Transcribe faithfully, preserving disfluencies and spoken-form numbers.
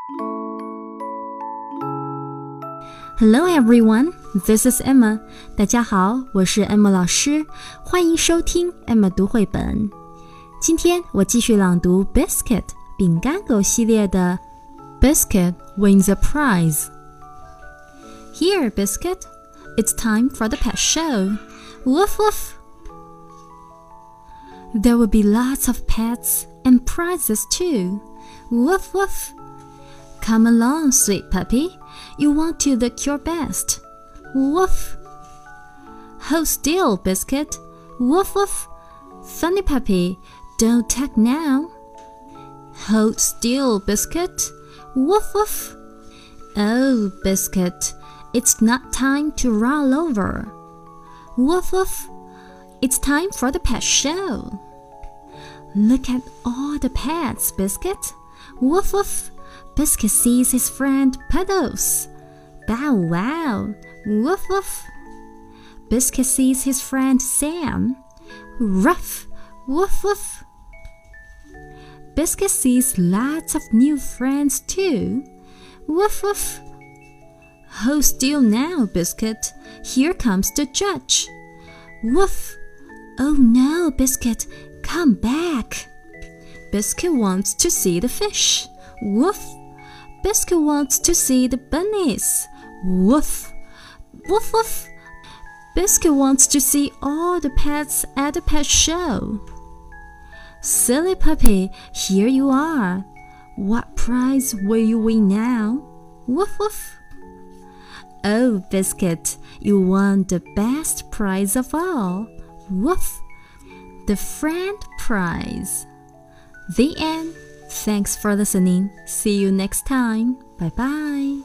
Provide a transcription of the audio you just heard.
Hello everyone, this is Emma. 大家好，我是 Emma 老师，欢迎收听 Emma 读绘本。今天我继续朗读 Biscuit 饼干狗系列的 Biscuit wins a prize. Here, Biscuit, it's time for the pet show. Woof woof. There will be lots of pets and prizes too. Woof woof. Come along, sweet puppy. You want to look your best. Woof. Hold still, Biscuit. Woof woof. Funny puppy, don't tug now. Hold still, Biscuit. Woof woof. Oh, Biscuit, it's not time to roll over. Woof woof. It's time for the pet show. Look at all the pets, Biscuit. Woof woof. Biscuit sees his friend Puddles. Bow wow. Woof woof. Biscuit sees his friend Sam. Ruff. Woof woof. Biscuit sees lots of new friends too. Woof woof. Hold still now, Biscuit. Here comes the judge. Woof. Oh no, Biscuit, come back. Biscuit wants to see the fish. Woof. Biscuit wants to see the bunnies. Woof. Woof woof. Biscuit wants to see all the pets at the pet show. Silly puppy, here you are. What prize will you win now? Woof woof. Oh, Biscuit, you won the best prize of all. Woof. The friend prize. The end. Thanks for listening. See you next time. Bye bye.